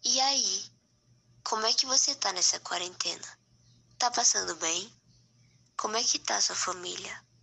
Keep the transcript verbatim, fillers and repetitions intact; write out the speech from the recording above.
E aí, como é que você tá nessa quarentena? Tá passando bem? Como é que tá sua família?